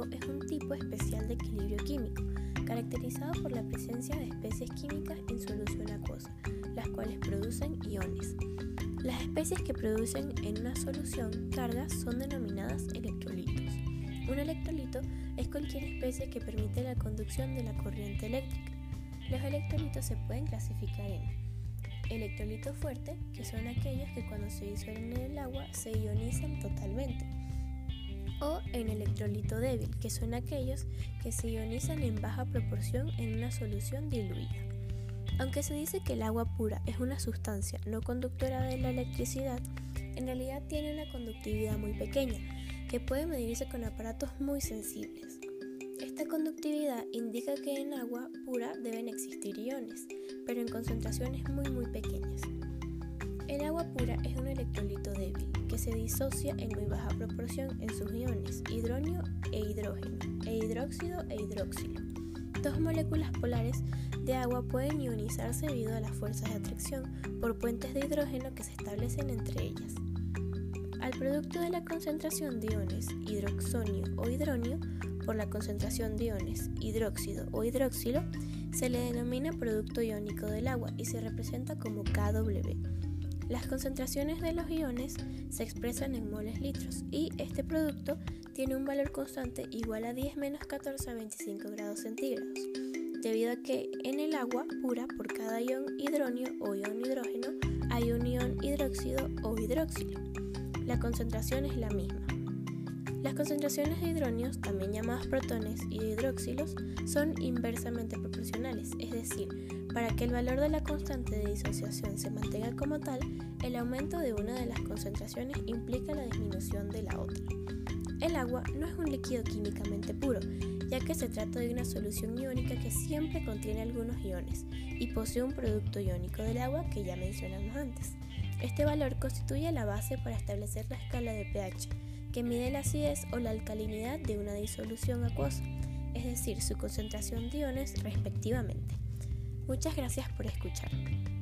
iónico es un tipo especial de equilibrio químico, caracterizado por la presencia de especies químicas en solución acuosa, las cuales producen iones. Las especies que producen en una solución cargas son denominadas electrolitos. Un electrolito es cualquier especie que permite la conducción de la corriente eléctrica. Los electrolitos se pueden clasificar en electrolitos fuertes, que son aquellos que cuando se disuelven en el agua se ionizan totalmente, o en electrolito débil, que son aquellos que se ionizan en baja proporción en una solución diluida. Aunque se dice que el agua pura es una sustancia no conductora de la electricidad, en realidad tiene una conductividad muy pequeña, que puede medirse con aparatos muy sensibles. Esta conductividad indica que en agua pura deben existir iones, pero en concentraciones muy pequeñas. El agua pura es un electrolito débil, que se disocia en muy baja proporción en sus iones, hidronio e hidrógeno, e hidróxido e hidroxilo. Dos moléculas polares de agua pueden ionizarse debido a las fuerzas de atracción por puentes de hidrógeno que se establecen entre ellas. Al producto de la concentración de iones hidroxonio o hidronio por la concentración de iones hidróxido o hidroxilo se le denomina producto iónico del agua y se representa como kW. Las concentraciones de los iones se expresan en moles litros y este producto tiene un valor constante igual a 10 menos 14 a 25 grados centígrados, debido a que en el agua pura por cada ion hidronio o ion hidrógeno hay un ion hidróxido o hidroxilo. La concentración es la misma. Las concentraciones de hidronios, también llamadas protones, y de hidroxilos son inversamente proporcionales, es decir, para que el valor de la constante de disociación se mantenga como tal, el aumento de una de las concentraciones implica la disminución de la otra. El agua no es un líquido químicamente puro, ya que se trata de una solución iónica que siempre contiene algunos iones y posee un producto iónico del agua que ya mencionamos antes. Este valor constituye la base para establecer la escala de pH, que mide la acidez o la alcalinidad de una disolución acuosa, es decir, su concentración de iones respectivamente. Muchas gracias por escuchar.